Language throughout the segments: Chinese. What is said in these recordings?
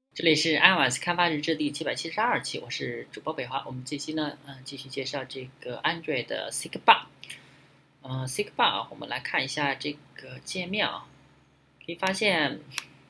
这里是 iOS 开发日志第772期，我是主播北华。我们这期呢，继续介绍这个 Android 的 Sickbar。Sickbar 我们来看一下这个界面啊，可以发现，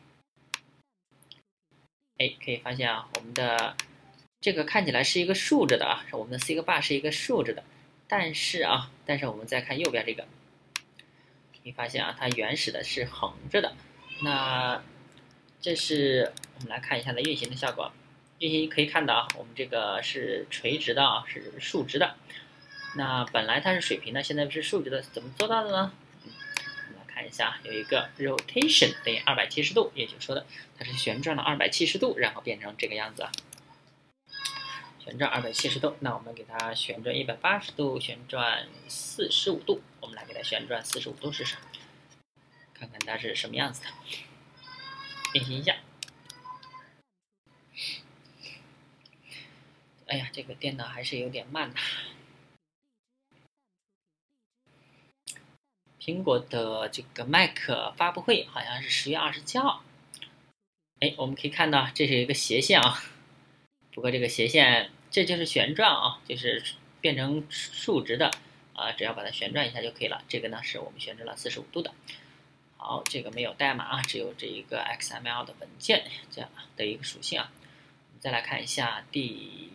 我们的这个看起来是一个竖着的啊，我们的 Sickbar 是一个竖着的，但是我们再看右边这个，可以发现它原始的是横着的。那这是我们来看一下它运行的效果。运行可以看到我们这个是垂直的是竖直的。那本来它是水平的，现在是竖直的，怎么做到的呢？我们来看一下，有一个 rotation 等于270度，也就是说的它是旋转了270度，然后变成这个样子。旋转270度，那我们给它旋转180度，旋转45度，我们来给它旋转45度试试，看看它是什么样子的。运行一下。哎呀，这个电脑还是有点慢的。苹果的这个 Mac 发布会好像是10月27号。我们可以看到这是一个斜线啊，不过这个斜线这就是旋转啊，就是变成竖直的只要把它旋转一下就可以了。这个呢是我们旋转了45度的。好，这个没有代码只有这一个 XML 的文件这样的一个属性啊。我们再来看一下第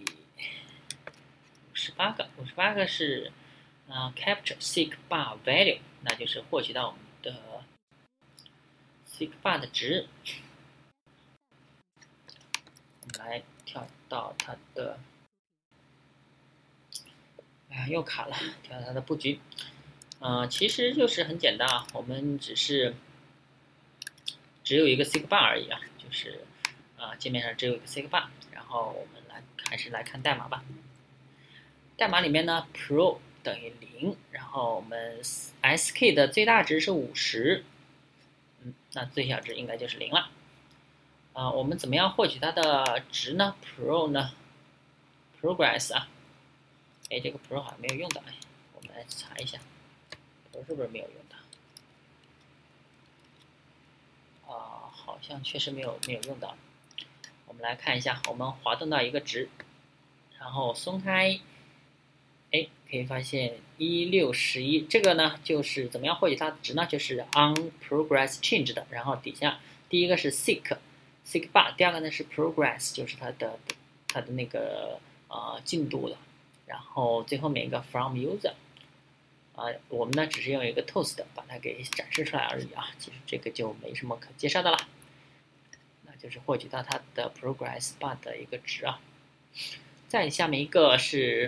58个是capture Sickbar value， 那就是获取到我们的 Sickbar 的值。我们来跳到它的，又卡了，跳到它的布局。其实就是很简单啊，我们只有一个 Sickbar 而已啊，就是界面上只有一个 Sickbar。然后我们还是来看代码吧。代码里面呢 ，Pro 等于0，然后我们 SK 的最大值是50，那最小值应该就是0了。我们怎么样获取它的值呢 ？Pro 呢 ？Progress 这个 Pro 好像没有用的，我们来查一下 ，Pro 是不是没有用的？好像确实没有用到。我们来看一下，我们滑动到一个值，然后松开，可以发现1611，这个呢就是怎么样获取它的值呢？就是 on progress change 的，然后底下第一个是 Sickbar，第二个呢是 progress， 就是它的那个进度的，然后最后面一个 from user。我们呢只是用一个 toast 把它给展示出来而已啊，其实这个就没什么可介绍的了。那就是获取到它的 progress bar 的一个值啊。再下面一个是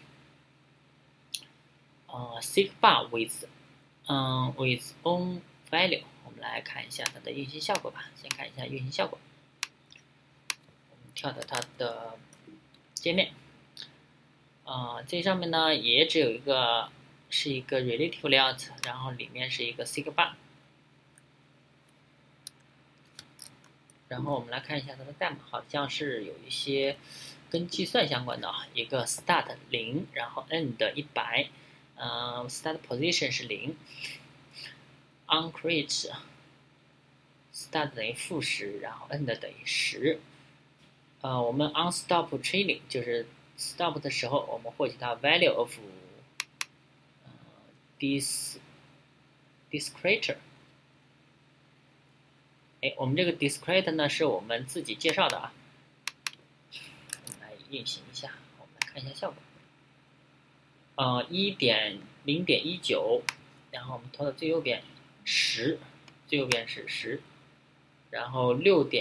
Sickbar with own value， 我们来看一下它的运行效果吧。先看一下运行效果，我们跳到它的界面。这上面呢也只有一个relative layout， 然后里面是一个 Sickbar。然后我们来看一下它的代码，好像是有一些跟计算相关的一个 start 0，然后 end 100，start position 是0，on create start 等于-10，然后 end 等于10。我们 on stop trailing 就是 stop 的时候，我们获取到 value of discretor。我们这个 discrete 呢是我们自己介绍的啊。我们来运行一下，我们来看一下效果。0.19， 然后我们拖到最右边10，最右边是10，然后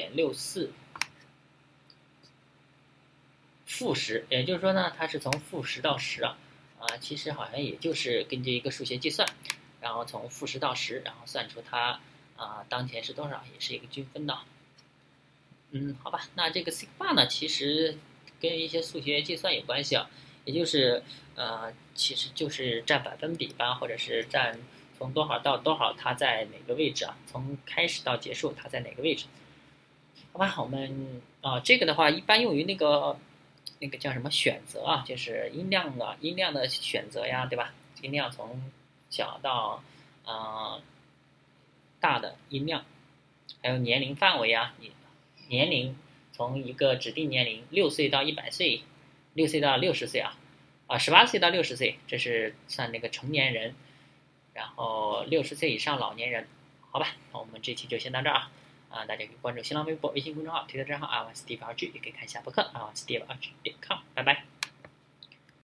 6.64，-10，也就是说呢，它是从-10到10其实好像也就是根据一个数学计算，然后从-10到10，然后算出它当前是多少，也是一个均分的。好吧，那这个 Sickbar 呢，其实跟一些数学计算有关系也就是其实就是占百分比吧，或者是占从多少到多少它在哪个位置从开始到结束它在哪个位置。好吧，我们这个的话一般用于那个叫什么选择就是音量的选择呀，对吧？音量从小到大的音量，还有年龄范围你年龄从一个指定年龄6岁到100岁，6岁到60岁18岁到60岁，这是算那个成年人，然后60岁以上老年人，好吧，那我们这期就先到这儿大家可以关注新浪微博、微信公众号、推特账号，我是 Steve RG，也可以看一下博客，我是 Steve RG.com，拜拜。